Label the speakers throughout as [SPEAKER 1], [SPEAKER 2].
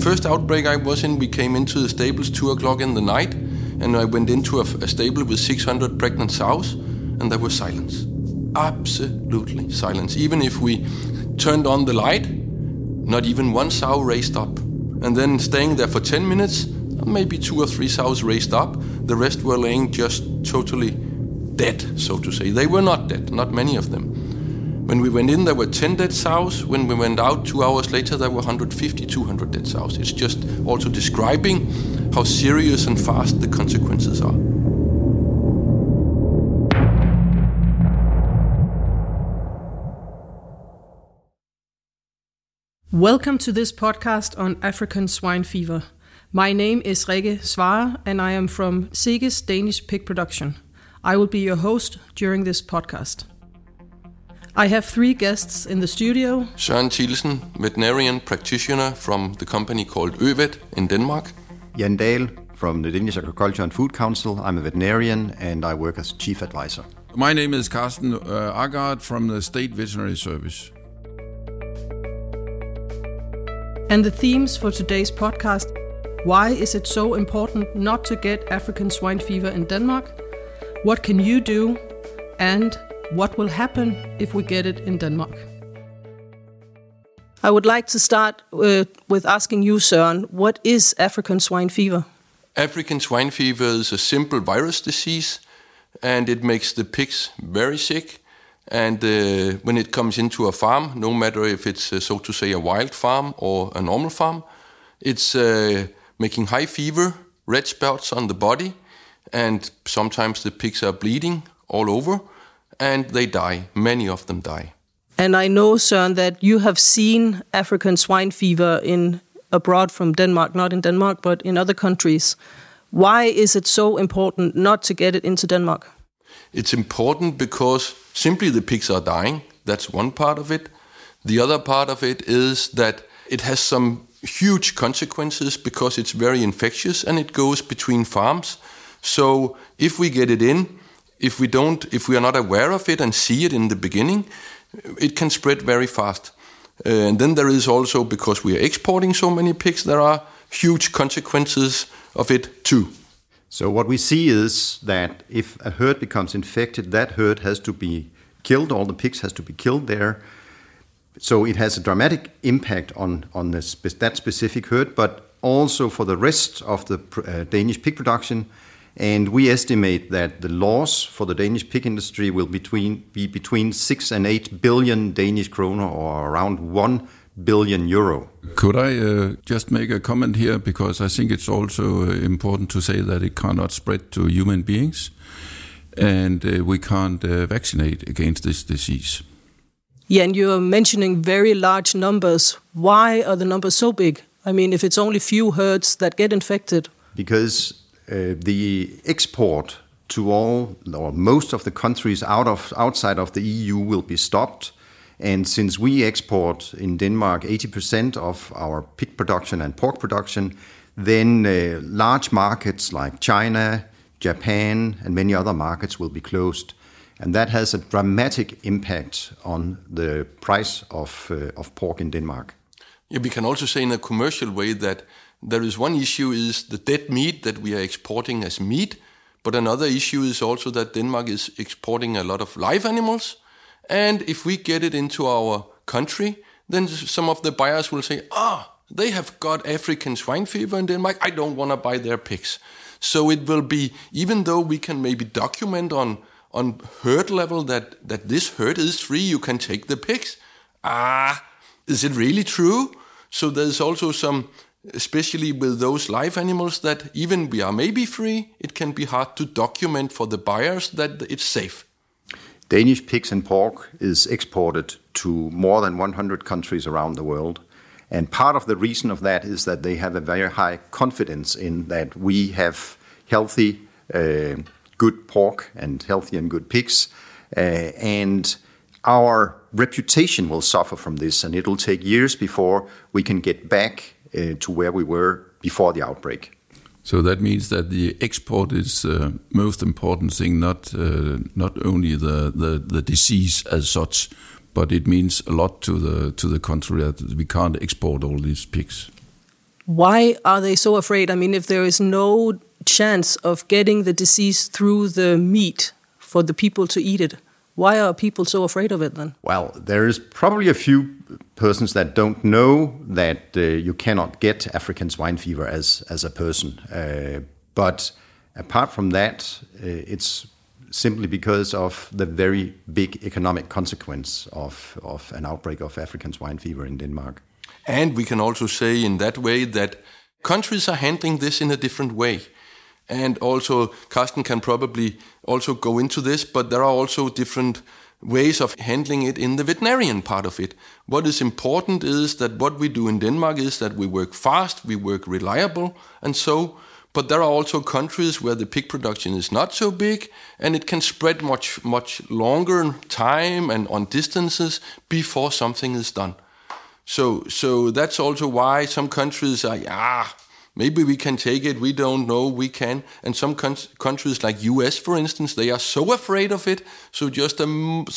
[SPEAKER 1] first outbreak I was in, we came into the stables 2 o'clock in the night, and I went into a stable with 600 pregnant sows, and there was silence. Absolutely silence. Even if we turned on the light, not even one sow raised up. And then staying there for 10 minutes, maybe 2 or 3 sows raised up. The rest were laying just totally dead, so to say. They were not dead, not many of them. When we went in, there were 10 dead sows. When we went out 2 hours later, there were 150, 200 dead sows. It's just also describing how serious and fast the consequences are.
[SPEAKER 2] Welcome to this podcast on African swine fever. My name is Rikke Svarre and I am from Seges Danish Pig Production. I will be your host during this podcast. I have 3 guests in the studio.
[SPEAKER 1] Søren Thielsen, veterinarian practitioner from the company called Øvet in Denmark.
[SPEAKER 3] Jan Dahl from the Danish Agriculture and Food Council. I'm a veterinarian and I work as chief advisor.
[SPEAKER 4] My name is Carsten Agard from the State Veterinary Service.
[SPEAKER 2] And the themes for today's podcast: why is it so important not to get African swine fever in Denmark? What can you do? And what will happen if we get it in Denmark? I would like to start with asking you, Søren, what is African swine fever?
[SPEAKER 1] African swine fever is a simple virus disease, and it makes the pigs very sick. And when it comes into a farm, no matter if it's, so to say, a wild farm or a normal farm, it's making high fever, red spots on the body, and sometimes the pigs are bleeding all over, and they die. Many of them die.
[SPEAKER 2] And I know, Søren, that you have seen African swine fever abroad from Denmark, not in Denmark, but in other countries. Why is it so important not to get it into Denmark?
[SPEAKER 1] It's important because simply the pigs are dying. That's one part of it. The other part of it is that it has some huge consequences because it's very infectious and it goes between farms. So if we get it in, if we are not aware of it and see it in the beginning, it can spread very fast. And then there is also, because we are exporting so many pigs, there are huge consequences of it too.
[SPEAKER 3] So what we see is that if a herd becomes infected, that herd has to be killed, all the pigs has to be killed there. So it has a dramatic impact on that specific herd, but also for the rest of the Danish pig production. And we estimate that the loss for the Danish pig industry will be between 6 and 8 billion Danish kroner, or around 1 billion euro.
[SPEAKER 4] Could I just make a comment here, because I think it's also important to say that it cannot spread to human beings, and we can't vaccinate against this disease.
[SPEAKER 2] Yeah, and you're mentioning very large numbers. Why are the numbers so big? I mean, if it's only few herds that get infected.
[SPEAKER 3] Because the export to all or most of the countries outside of the EU will be stopped. And since we export in Denmark 80% of our pig production and pork production, then large markets like China, Japan, and many other markets will be closed. And that has a dramatic impact on the price of pork in Denmark.
[SPEAKER 1] Yeah, we can also say in a commercial way that there is one issue is the dead meat that we are exporting as meat, but another issue is also that Denmark is exporting a lot of live animals. And if we get it into our country, then some of the buyers will say, they have got African swine fever in Denmark, I don't want to buy their pigs. So it will be, even though we can maybe document on herd level that this herd is free, you can take the pigs. Is it really true? So there's also some, especially with those live animals, that even we are maybe free, it can be hard to document for the buyers that it's safe.
[SPEAKER 3] Danish pigs and pork is exported to more than 100 countries around the world. And part of the reason of that is that they have a very high confidence in that we have healthy, good pork and healthy and good pigs. And our reputation will suffer from this, and it will take years before we can get back to where we were before the outbreak.
[SPEAKER 4] So that means that the export is the most important thing, not only the disease as such, but it means a lot to the country that we can't export all these pigs.
[SPEAKER 2] Why are they so afraid? I mean, if there is no chance of getting the disease through the meat for the people to eat it, why are people so afraid of it then?
[SPEAKER 3] Well, there is probably a few persons that don't know that you cannot get African swine fever as a person. But apart from that, it's simply because of the very big economic consequence of an outbreak of African swine fever in Denmark.
[SPEAKER 1] And we can also say in that way that countries are handling this in a different way. And also, Carsten can probably also go into this, but there are also different ways of handling it in the veterinarian part of it. What is important is that what we do in Denmark is that we work fast, we work reliable, and so. But there are also countries where the pig production is not so big, and it can spread much longer time and on distances before something is done. So that's also why some countries are, maybe we can take it, we don't know, we can. And some countries like US, for instance, they are so afraid of it, so just a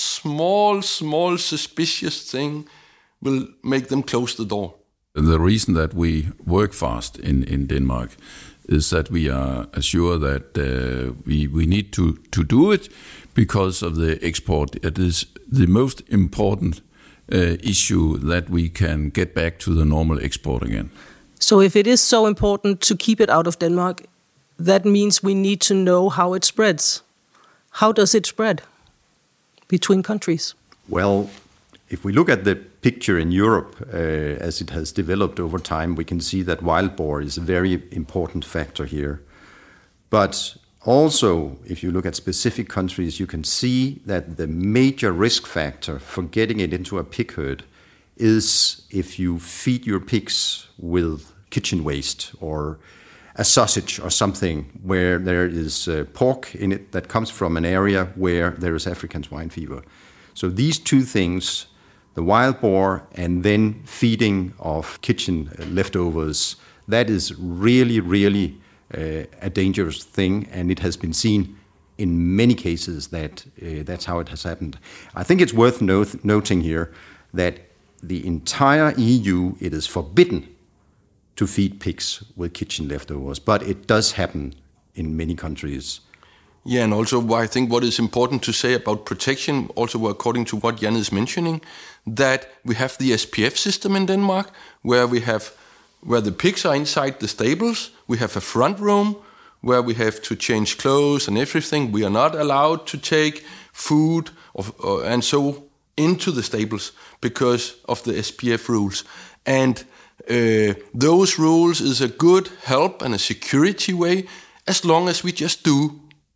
[SPEAKER 1] small suspicious thing will make them close the door.
[SPEAKER 4] The reason that we work fast in Denmark is that we are assured that we need to do it because of the export. It is the most important issue that we can get back to the normal export again.
[SPEAKER 2] So if it is so important to keep it out of Denmark, that means we need to know how it spreads. How does it spread between countries?
[SPEAKER 3] Well, if we look at the picture in Europe as it has developed over time, we can see that wild boar is a very important factor here. But also, if you look at specific countries, you can see that the major risk factor for getting it into a pig herd is if you feed your pigs with kitchen waste or a sausage or something where there is pork in it that comes from an area where there is African swine fever. So these two things, the wild boar and then feeding of kitchen leftovers, that is really a dangerous thing, and it has been seen in many cases that that's how it has happened. I think it's worth noting here that the entire EU, it is forbidden to feed pigs with kitchen leftovers, but it does happen in many countries.
[SPEAKER 1] Yeah, and also I think what is important to say about protection, also according to what Jan is mentioning, that we have the SPF system in Denmark, where the pigs are inside the stables. We have a front room where we have to change clothes and everything. We are not allowed to take food and so into the stables because of the SPF rules. And those rules is a good help and a security way as long as we just do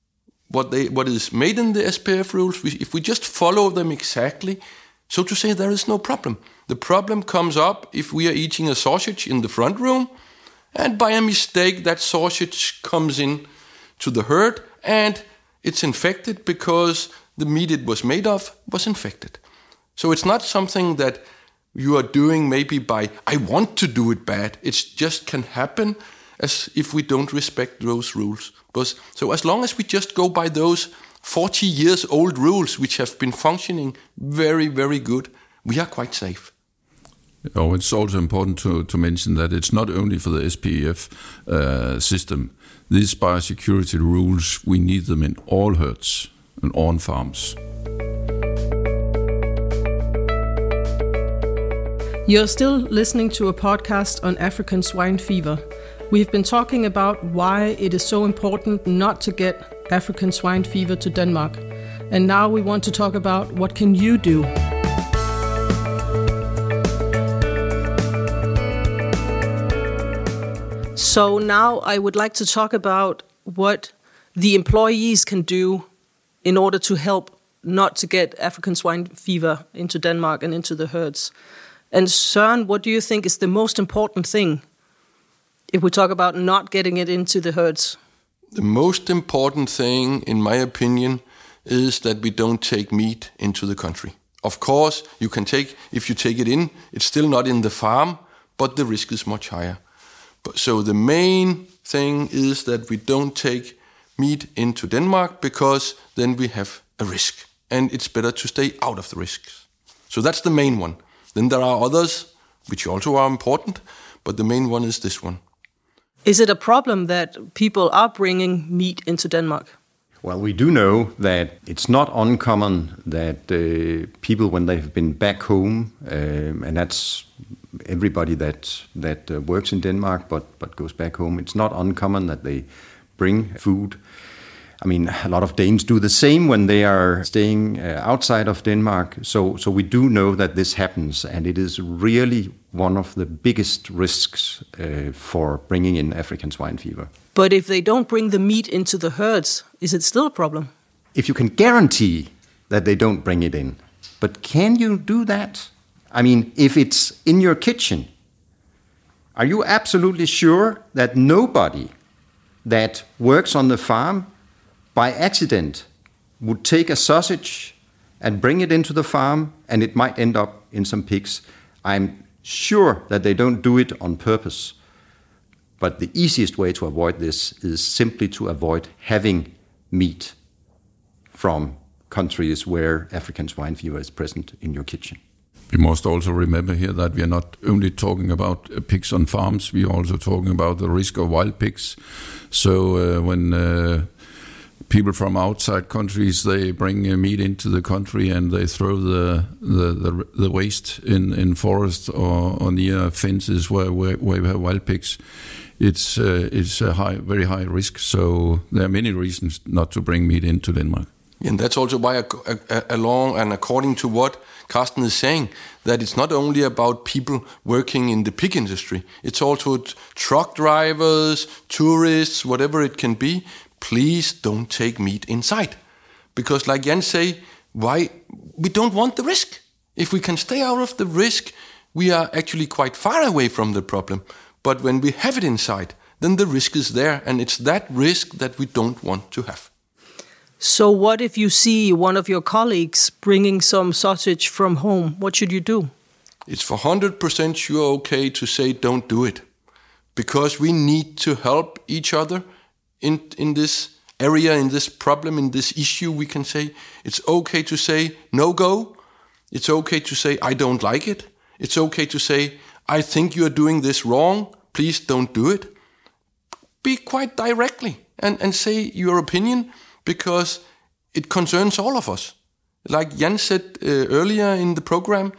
[SPEAKER 1] what is made in the SPF rules. If we just follow them exactly, so to say, there is no problem. The problem comes up if we are eating a sausage in the front room and by a mistake that sausage comes in to the herd and it's infected because the meat it was made of was infected. So it's not something that you are doing maybe by, I want to do it bad. It just can happen as if we don't respect those rules. So as long as we just go by those 40 years old rules, which have been functioning very, very good, we are quite safe.
[SPEAKER 4] Oh, it's also important to mention that it's not only for the SPF system. These biosecurity rules, we need them in all herds and on farms.
[SPEAKER 2] You're still listening to a podcast on African swine fever. We've been talking about why it is so important not to get African swine fever to Denmark. And now we want to talk about what can you do? So now I would like to talk about what the employees can do in order to help not to get African swine fever into Denmark and into the herds. And Søren, what do you think is the most important thing if we talk about not getting it into the herds?
[SPEAKER 1] The most important thing, in my opinion, is that we don't take meat into the country. Of course, if you take it in, it's still not in the farm, but the risk is much higher. So the main thing is that we don't take meat into Denmark because then we have a risk. And it's better to stay out of the risks. So that's the main one. Then there are others, which also are important, but the main one is this one.
[SPEAKER 2] Is it a problem that people are bringing meat into Denmark?
[SPEAKER 3] Well, we do know that it's not uncommon that people, when they've been back home, and that's everybody that works in Denmark but goes back home, it's not uncommon that they bring food. I mean, a lot of Danes do the same when they are staying outside of Denmark. So we do know that this happens, and it is really one of the biggest risks for bringing in African swine fever.
[SPEAKER 2] But if they don't bring the meat into the herds, is it still a problem?
[SPEAKER 3] If you can guarantee that they don't bring it in, but can you do that? I mean, if it's in your kitchen, are you absolutely sure that nobody that works on the farm by accident would take a sausage and bring it into the farm and it might end up in some pigs? I'm sure that they don't do it on purpose. But the easiest way to avoid this is simply to avoid having meat from countries where African swine fever is present in your kitchen.
[SPEAKER 4] We must also remember here that we are not only talking about pigs on farms, we are also talking about the risk of wild pigs. So when people from outside countries, they bring meat into the country and they throw the waste in forests or near fences where we have wild pigs. It's a very high risk. So there are many reasons not to bring meat into Denmark.
[SPEAKER 1] And that's also why, along and according to what Carsten is saying, that it's not only about people working in the pig industry. It's also truck drivers, tourists, whatever it can be. Please don't take meat inside. Because like Jan say, why we don't want the risk. If we can stay out of the risk, we are actually quite far away from the problem. But when we have it inside, then the risk is there. And it's that risk that we don't want to have.
[SPEAKER 2] So what if you see one of your colleagues bringing some sausage from home? What should you do?
[SPEAKER 1] It's for 100% sure okay to say don't do it. Because we need to help each other in this area, in this problem, in this issue. We can say it's okay to say no go. It's okay to say I don't like it. It's okay to say I think you're doing this wrong. Please don't do it. Be quite directly and say your opinion, because it concerns all of us. Like Jan said earlier in the program,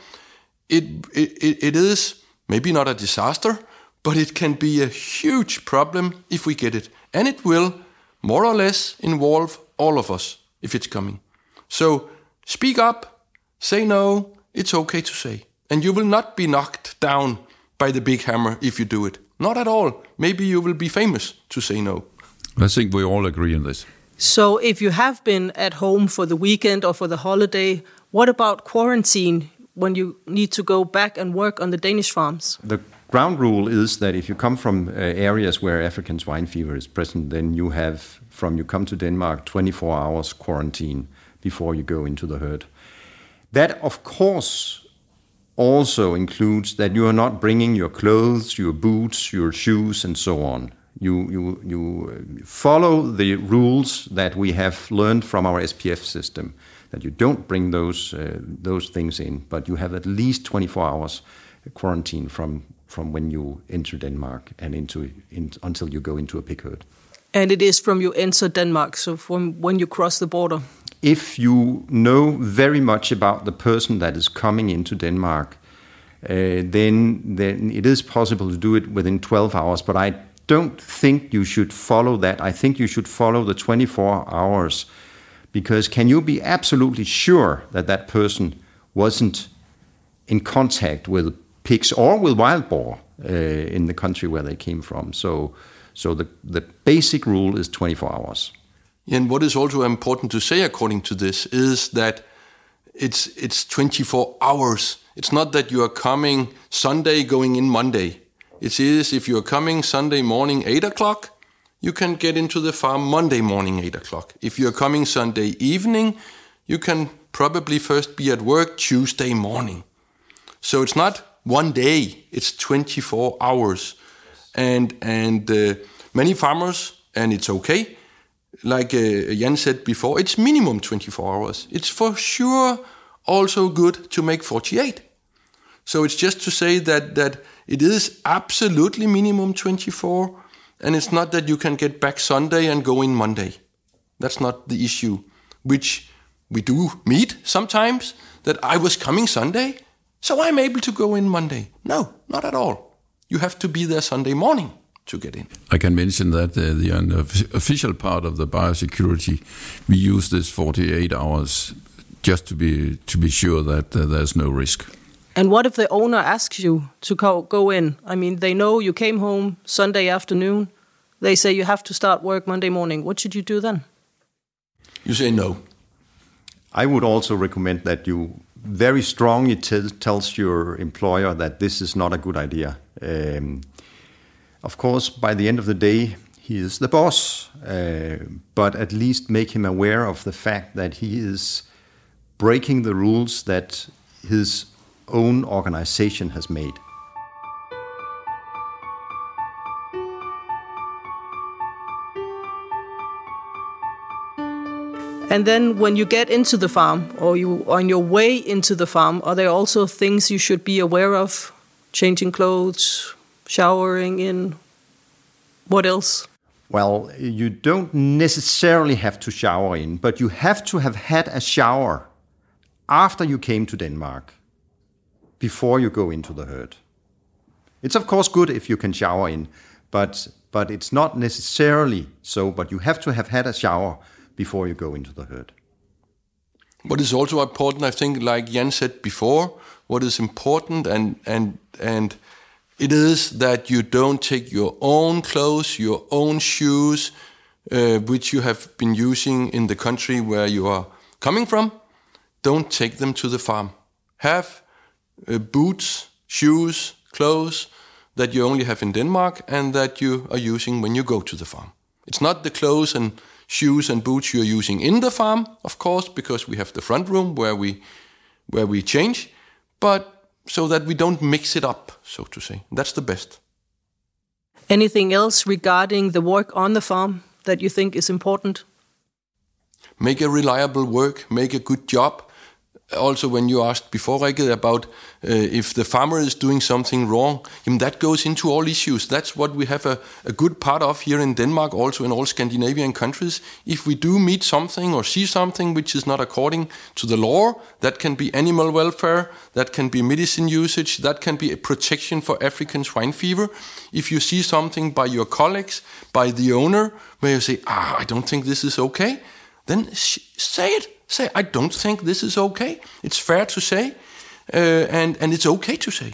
[SPEAKER 1] it is maybe not a disaster, but it can be a huge problem if we get it. And it will more or less involve all of us if it's coming. So speak up, say no, it's okay to say. And you will not be knocked down by the big hammer if you do it. Not at all. Maybe you will be famous to say no.
[SPEAKER 4] I think we all agree on this.
[SPEAKER 2] So if you have been at home for the weekend or for the holiday, what about quarantine when you need to go back and work on the Danish farms?
[SPEAKER 3] The ground rule is that if you come from areas where African swine fever is present, then you have, from you come to Denmark, 24 hours quarantine before you go into the herd. That, of course, also includes that you are not bringing your clothes, your boots, your shoes, and so on. You follow the rules that we have learned from our SPF system, that you don't bring those things in, but you have at least 24 hours quarantine from when you enter Denmark and until you go into a pig herd.
[SPEAKER 2] And it is from you enter Denmark, so from when you cross the border?
[SPEAKER 3] If you know very much about the person that is coming into Denmark, then it is possible to do it within 12 hours, but I don't think you should follow that. I think you should follow the 24 hours, because can you be absolutely sure that that person wasn't in contact with pigs or with wild boar in the country where they came from? So the basic rule is 24 hours.
[SPEAKER 1] And what is also important to say according to this is that it's 24 hours. It's not that you are coming Sunday, going in Monday. It is if you are coming Sunday morning 8 o'clock, you can get into the farm Monday morning 8 o'clock. If you are coming Sunday evening, you can probably first be at work Tuesday morning. So it's not one day, it's 24 hours. And many farmers, and it's okay, like Jan said before, it's minimum 24 hours. It's for sure also good to make 48. So it's just to say that it is absolutely minimum 24, and it's not that you can get back Sunday and go in Monday. That's not the issue, which we do meet sometimes, that I was coming Sunday, so I'm able to go in Monday. No, not at all. You have to be there Sunday morning to get in.
[SPEAKER 4] I can mention that the official part of the biosecurity, we use this 48 hours just to be sure that there's no risk.
[SPEAKER 2] And what if the owner asks you to go in? I mean, they know you came home Sunday afternoon. They say you have to start work Monday morning. What should you do then?
[SPEAKER 1] You say no.
[SPEAKER 3] I would also recommend that you very strongly tells your employer that this is not a good idea. Of course, by the end of the day, he is the boss, but at least make him aware of the fact that he is breaking the rules that his own organization has made.
[SPEAKER 2] And then when you get into the farm, or you on your way into the farm, are there also things you should be aware of? Changing clothes, showering in, what else?
[SPEAKER 3] Well, you don't necessarily have to shower in, but you have to have had a shower after you came to Denmark, before you go into the herd. It's of course good if you can shower in, but it's not necessarily so, but you have to have had a shower before you go into the herd.
[SPEAKER 1] What is also important, I think, like Jan said before, what is important and it is that you don't take your own clothes, your own shoes, which you have been using in the country where you are coming from. Don't take them to the farm. Have boots, shoes, clothes that you only have in Denmark and that you are using when you go to the farm. It's not the clothes and shoes and boots you're using in the farm, of course, because we have the front room where we change, but so that we don't mix it up, so to say. That's the best.
[SPEAKER 2] Anything else regarding the work on the farm that you think is important?
[SPEAKER 1] Make a reliable work, make a good job. Also, when you asked before, Rikke, about if the farmer is doing something wrong, that goes into all issues. That's what we have a good part of here in Denmark, also in all Scandinavian countries. If we do meet something or see something which is not according to the law, that can be animal welfare, that can be medicine usage, that can be a protection for African swine fever. If you see something by your colleagues, by the owner, where you say, I don't think this is okay, then say it. Say, I don't think this is okay. It's fair to say, and it's okay to say.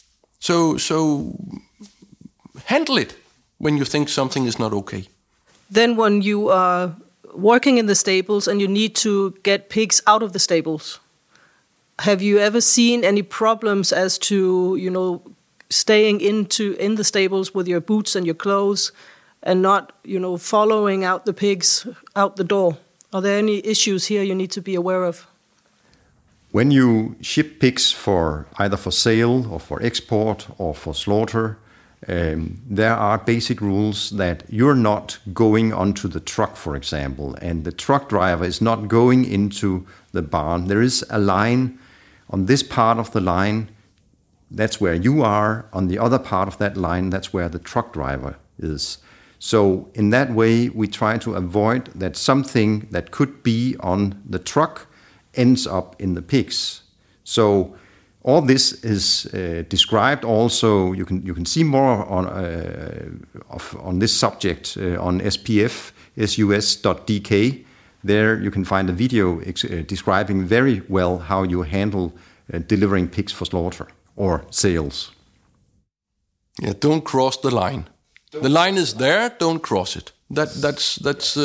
[SPEAKER 1] So handle it when you think something is not okay.
[SPEAKER 2] Then when you are working in the stables and you need to get pigs out of the stables, have you ever seen any problems as to, staying in the stables with your boots and your clothes and not, following out the pigs out the door? Are there any issues here you need to be aware of?
[SPEAKER 3] When you ship pigs for either for sale or for export or for slaughter, there are basic rules that you're not going onto the truck, for example, and the truck driver is not going into the barn. There is a line on this part of the line. That's where you are. On the other part of that line, that's where the truck driver is. So in that way, we try to avoid that something that could be on the truck ends up in the pigs. So all this is described. Also, you can see more on this subject on spfsus.dk. There you can find a video describing very well how you handle delivering pigs for slaughter or sales.
[SPEAKER 1] Yeah, don't cross the line. The line is there. Don't cross it. That's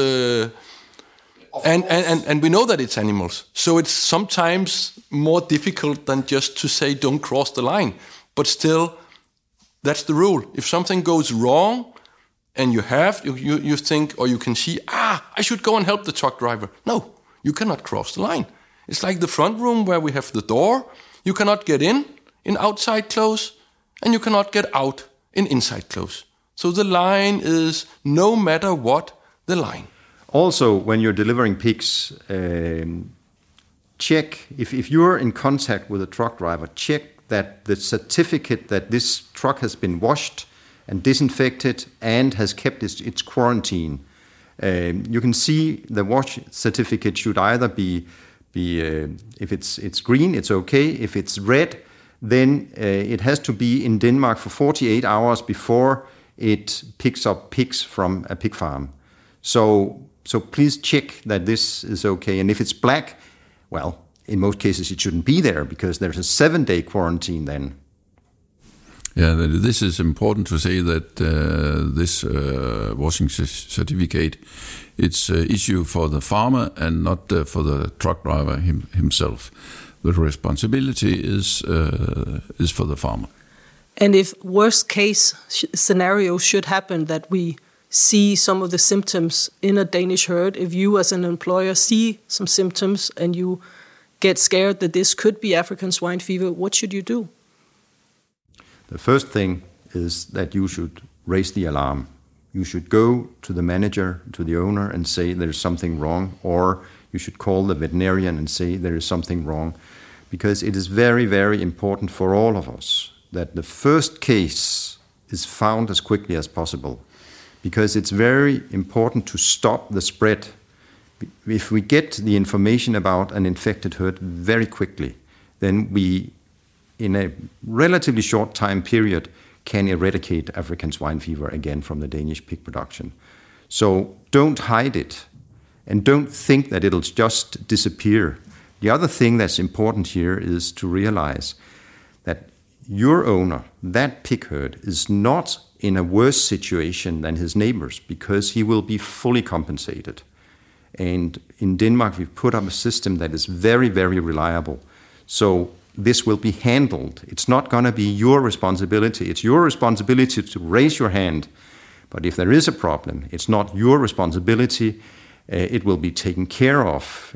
[SPEAKER 1] and we know that it's animals, so it's sometimes more difficult than just to say don't cross the line. But still, that's the rule. If something goes wrong, and you think or you can see, I should go and help the truck driver. No, you cannot cross the line. It's like the front room where we have the door. You cannot get in outside clothes, and you cannot get out in inside clothes. So the line is, no matter what, the line.
[SPEAKER 3] Also, when you're delivering pigs, check, if you're in contact with a truck driver, check that the certificate that this truck has been washed and disinfected and has kept its quarantine. You can see the wash certificate should either be if it's green, it's okay. If it's red, then it has to be in Denmark for 48 hours before it picks up pigs from a pig farm. So please check that this is okay. And if it's black, well, in most cases it shouldn't be there because there's a 7-day quarantine then.
[SPEAKER 4] Yeah, this is important to say that this washing certificate, it's issue for the farmer and not for the truck driver himself. The responsibility is for the farmer.
[SPEAKER 2] And if worst case scenario should happen, that we see some of the symptoms in a Danish herd, if you as an employer see some symptoms and you get scared that this could be African swine fever, what should you do?
[SPEAKER 3] The first thing is that you should raise the alarm. You should go to the manager, to the owner, and say there is something wrong, or you should call the veterinarian and say there is something wrong, because it is very, very important for all of us that the first case is found as quickly as possible, because it's very important to stop the spread. If we get the information about an infected herd very quickly, then we, in a relatively short time period, can eradicate African swine fever again from the Danish pig production. So don't hide it, and don't think that it'll just disappear. The other thing that's important here is to realize that your owner, that pig herd, is not in a worse situation than his neighbors because he will be fully compensated. And in Denmark, we've put up a system that is very, very reliable. So this will be handled. It's not going to be your responsibility. It's your responsibility to raise your hand. But if there is a problem, it's not your responsibility. It will be taken care of.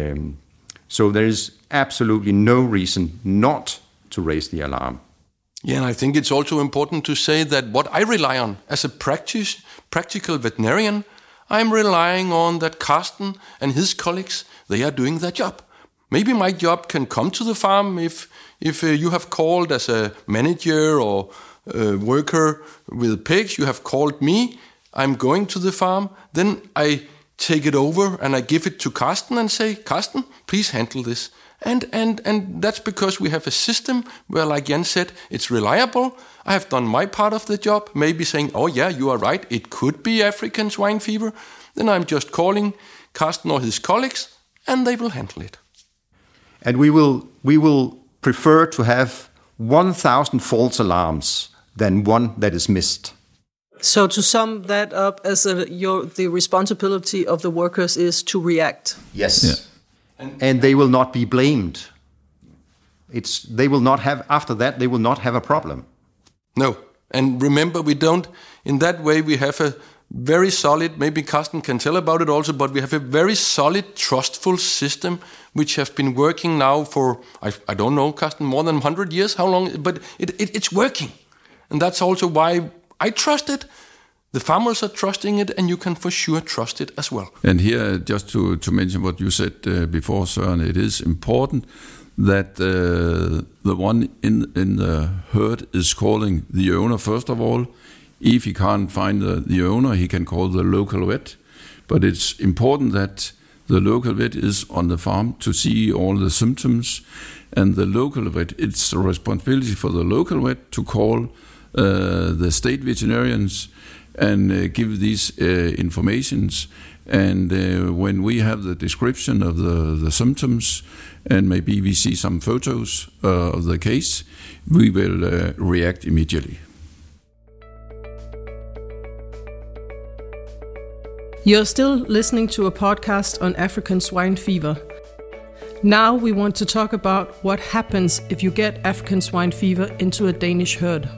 [SPEAKER 3] So there is absolutely no reason not to raise the alarm.
[SPEAKER 1] Yeah, and I think it's also important to say that what I rely on as a practical veterinarian, I'm relying on that Carsten and his colleagues, they are doing their job. Maybe my job can come to the farm if you have called as a manager or a worker with pigs, you have called me, I'm going to the farm, then I take it over and I give it to Carsten and say, Carsten, please handle this. And that's because we have a system where, like Jan said, it's reliable. I have done my part of the job, maybe saying, oh yeah, you are right, it could be African swine fever. Then I'm just calling Carsten or his colleagues and they will handle it.
[SPEAKER 3] And we will prefer to have 1,000 false alarms than one that is missed.
[SPEAKER 2] So to sum that up, as the responsibility of the workers is to react.
[SPEAKER 3] Yes. Yeah. And they will not be blamed. They will not have, after that, they will not have a problem.
[SPEAKER 1] No. And remember, we don't, in that way, we have a very solid, maybe Carsten can tell about it also, but we have a very solid, trustful system which have been working now for, I don't know, Carsten, more than 100 years, how long, but it's working. And that's also why I trust it. The farmers are trusting it, and you can for sure trust it as well.
[SPEAKER 4] And here, just to mention what you said before, Søren, it is important that the one in the herd is calling the owner first of all. If he can't find the owner, he can call the local vet. But it's important that the local vet is on the farm to see all the symptoms. And the local vet, it's a responsibility for the local vet to call the state veterinarians and give these informations. And when we have the description of the symptoms, and maybe we see some photos of the case, we will react immediately.
[SPEAKER 2] You're still listening to a podcast on African swine fever. Now we want to talk about what happens if you get African swine fever into a Danish herd.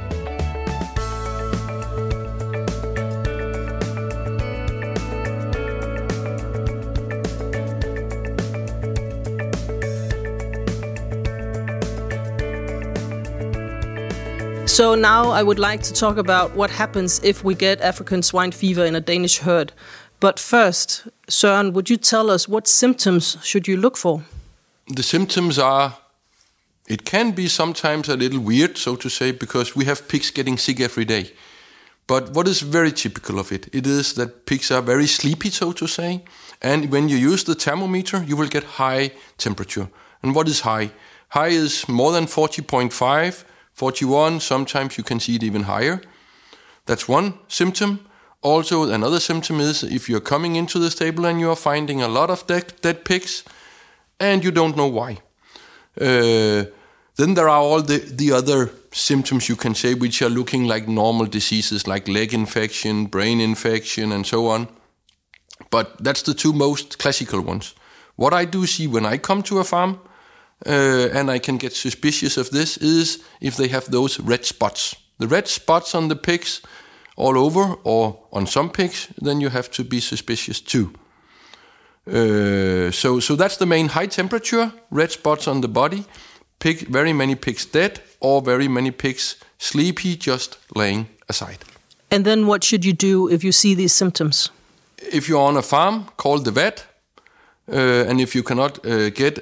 [SPEAKER 2] So now I would like to talk about what happens if we get African swine fever in a Danish herd. But first, Søren, would you tell us what symptoms should you look for?
[SPEAKER 1] The symptoms are It can be sometimes a little weird, so to say, because we have pigs getting sick every day. But what is very typical of it? It is that pigs are very sleepy, so to say. And when you use the thermometer, you will get high temperature. And what is high? High is more than 40.5, 41. Sometimes you can see it even higher. That's one symptom. Also, another symptom is if you're coming into the stable and you are finding a lot of dead pigs and you don't know why. Then there are all the other symptoms you can say which are looking like normal diseases like leg infection, brain infection and so on. But that's the two most classical ones. What I do see when I come to a farm and I can get suspicious of this is if they have those red spots. The red spots on the pigs all over or on some pigs, then you have to be suspicious too. So that's the main: high temperature, red spots on the body, very many pigs dead, or very many pigs sleepy, just laying aside.
[SPEAKER 2] And then what should you do if you see these symptoms?
[SPEAKER 1] If you're on a farm, call the vet. And if you cannot get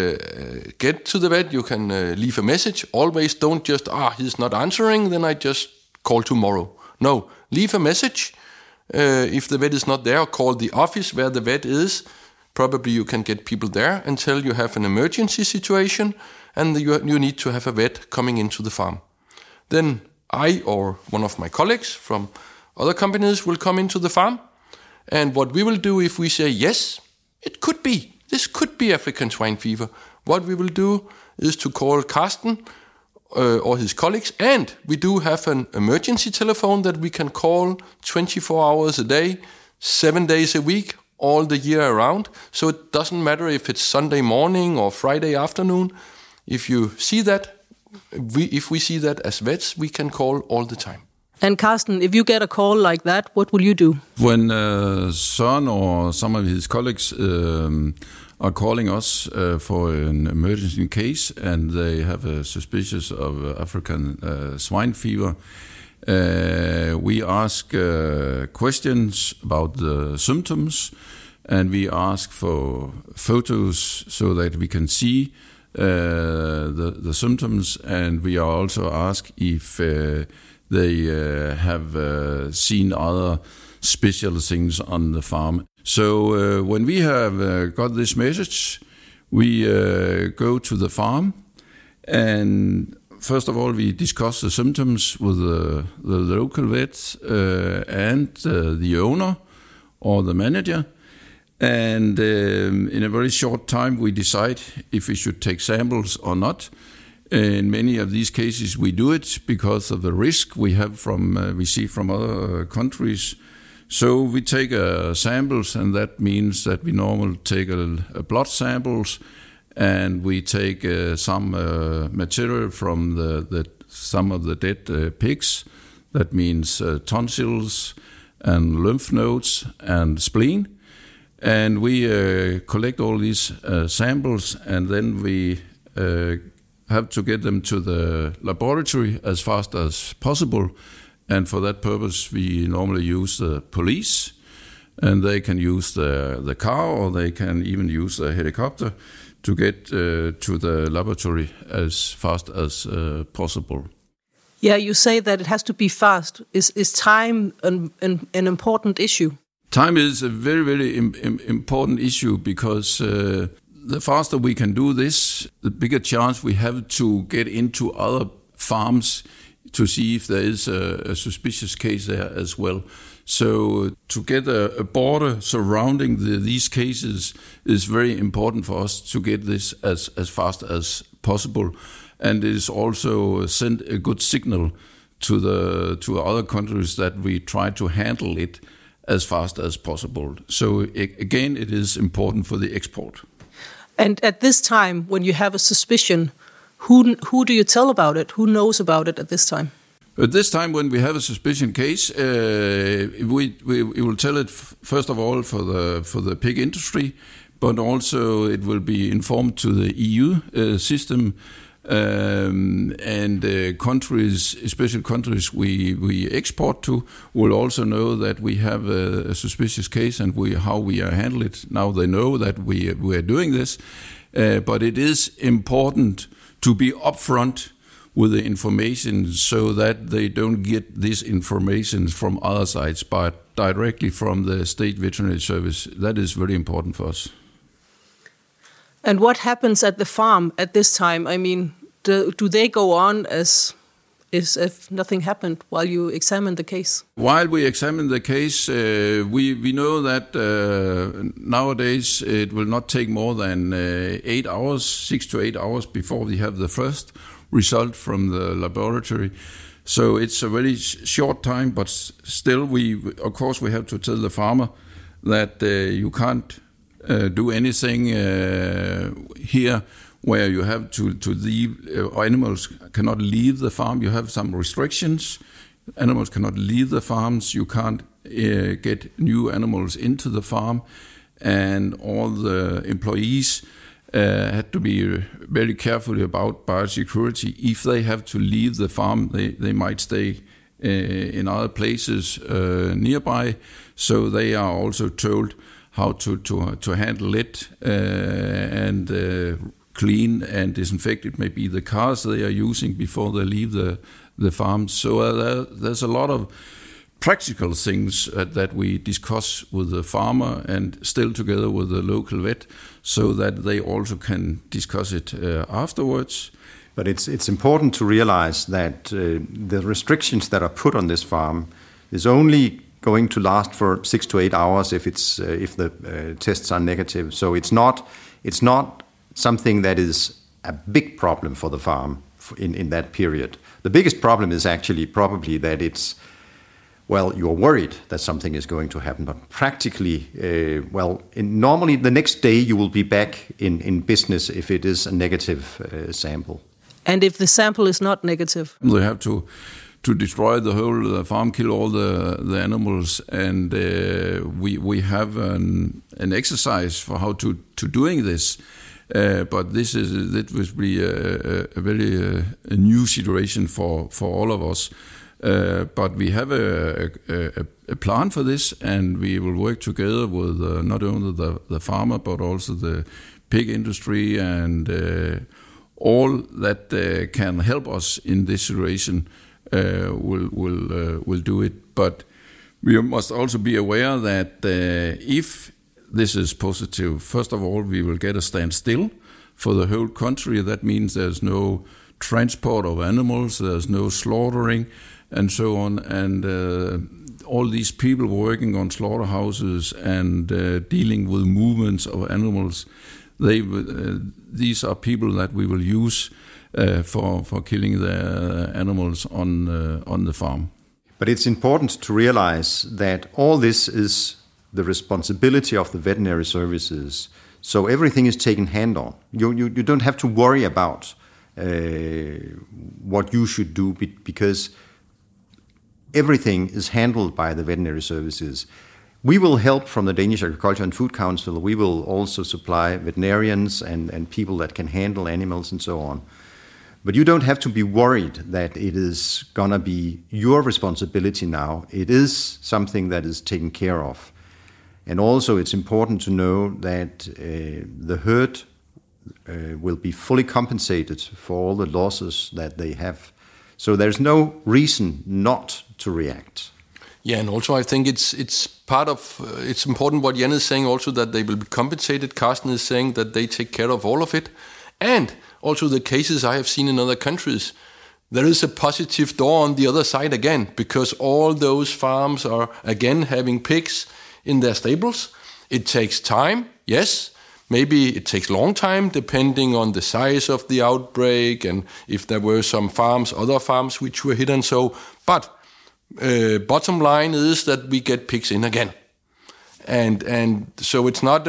[SPEAKER 1] to the vet, you can leave a message. Always don't just, he's not answering, then I just call tomorrow. No, leave a message. If the vet is not there, call the office where the vet is. Probably you can get people there until you have an emergency situation and you need to have a vet coming into the farm. Then I or one of my colleagues from other companies will come into the farm. And what we will do if we say, yes, it could be, this could be African swine fever, what we will do is to call Carsten or his colleagues, and we do have an emergency telephone that we can call 24 hours a day, 7 days a week, all the year around. So it doesn't matter if it's Sunday morning or Friday afternoon. If you see that, if we see that as vets, we can call all the time.
[SPEAKER 2] And Carsten, if you get a call like that, what will you do?
[SPEAKER 4] When Søren or some of his colleagues are calling us for an emergency case and they have a suspicion of African swine fever, we ask questions about the symptoms and we ask for photos so that we can see the symptoms, and we are also asked if they have seen other special things on the farm. So when we have got this message, we go to the farm, and first of all we discuss the symptoms with the local vet and the owner or the manager. And in a very short time we decide if we should take samples or not. In many of these cases we do it because of the risk we have we see from other countries. So we take samples, and that means that we normally take a blood samples, and we take some material from some of the dead pigs. That means tonsils and lymph nodes and spleen. And we collect all these samples, and then we have to get them to the laboratory as fast as possible. And for that purpose, we normally use the police, and they can use the car, or they can even use the helicopter to get to the laboratory as fast as possible.
[SPEAKER 2] Yeah, you say that it has to be fast. Is time an important issue?
[SPEAKER 4] Time is a very, very important issue because the faster we can do this, the bigger chance we have to get into other farms to see if there is a suspicious case there as well. So to get a border surrounding these cases is very important for us to get this as fast as possible. And it is also send a good signal to other countries that we try to handle it as fast as possible. So again, it is important for the export.
[SPEAKER 2] And at this time, when you have a suspicion, who do you tell about it? Who knows about it at this time?
[SPEAKER 4] At this time, when we have a suspicion case, we will tell it first of all for the pig industry, but also it will be informed to the EU system. And countries, especially countries we export to, will also know that we have a suspicious case and how we handle it. Now they know that we are doing this, but it is important to be upfront with the information so that they don't get this information from other sides, but directly from the State Veterinary Service. That is very important for us.
[SPEAKER 2] And what happens at the farm at this time? I mean, do they go on as if nothing happened while you examine the case?
[SPEAKER 4] While we examine the case, we know that nowadays it will not take more than 8 hours, 6 to 8 hours before we have the first result from the laboratory. So it's a very short time, but still of course we have to tell the farmer that you can't do anything here where you have to leave, animals cannot leave the farm. You have some restrictions. Animals cannot leave the farms. You can't get new animals into the farm. And all the employees had to be very careful about biosecurity. If they have to leave the farm, they might stay in other places nearby. So they are also told how to handle it and clean and disinfect it. Maybe the cars they are using before they leave the farm. So there's a lot of practical things that we discuss with the farmer and still together with the local vet, so that they also can discuss it afterwards.
[SPEAKER 3] But it's important to realize that the restrictions that are put on this farm is only going to last for 6 to 8 hours if the tests are negative. So it's not something that is a big problem for the farm in that period. The biggest problem is actually probably that you're worried that something is going to happen, but practically, normally the next day you will be back in business if it is a negative sample.
[SPEAKER 2] And if the sample is not negative?
[SPEAKER 4] They have to destroy the whole farm, kill all the animals, and we have an exercise for how to doing this. But this will be a very new situation for all of us. But we have a plan for this, and we will work together with not only the farmer but also the pig industry and all that can help us in this situation. Will do it. But we must also be aware that if this is positive, first of all, we will get a standstill for the whole country. That means there's no transport of animals, there's no slaughtering, and so on. And all these people working on slaughterhouses and dealing with movements of animals, these are people that we will use for killing the animals on the farm.
[SPEAKER 3] But it's important to realize that all this is the responsibility of the veterinary services. So everything is taken hand on. You don't have to worry about what you should do because everything is handled by the veterinary services. We will help from the Danish Agriculture and Food Council. We will also supply veterinarians and people that can handle animals and so on. But you don't have to be worried that it is going to be your responsibility now. It is something that is taken care of. And also it's important to know that the herd will be fully compensated for all the losses that they have. So there's no reason not to react.
[SPEAKER 1] Yeah, and also I think it's part of, it's important what Jan is saying also, that they will be compensated. Carsten is saying that they take care of all of it. And also the cases I have seen in other countries, there is a positive door on the other side again, because all those farms are again having pigs in their stables. It takes time, yes. Maybe it takes long time depending on the size of the outbreak and if there were some farms, other farms which were hit and so. But bottom line is that we get pigs in again. And so it's not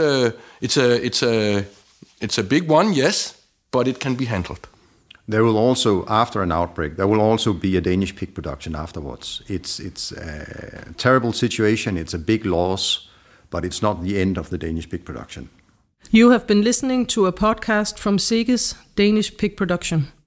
[SPEAKER 1] it's a big one, yes, but it can be handled.
[SPEAKER 3] There will also, after an outbreak, there will also be a Danish pig production afterwards. It's a terrible situation, it's a big loss, but it's not the end of the Danish pig production.
[SPEAKER 2] You have been listening to a podcast from SEGES Danish Pig Production.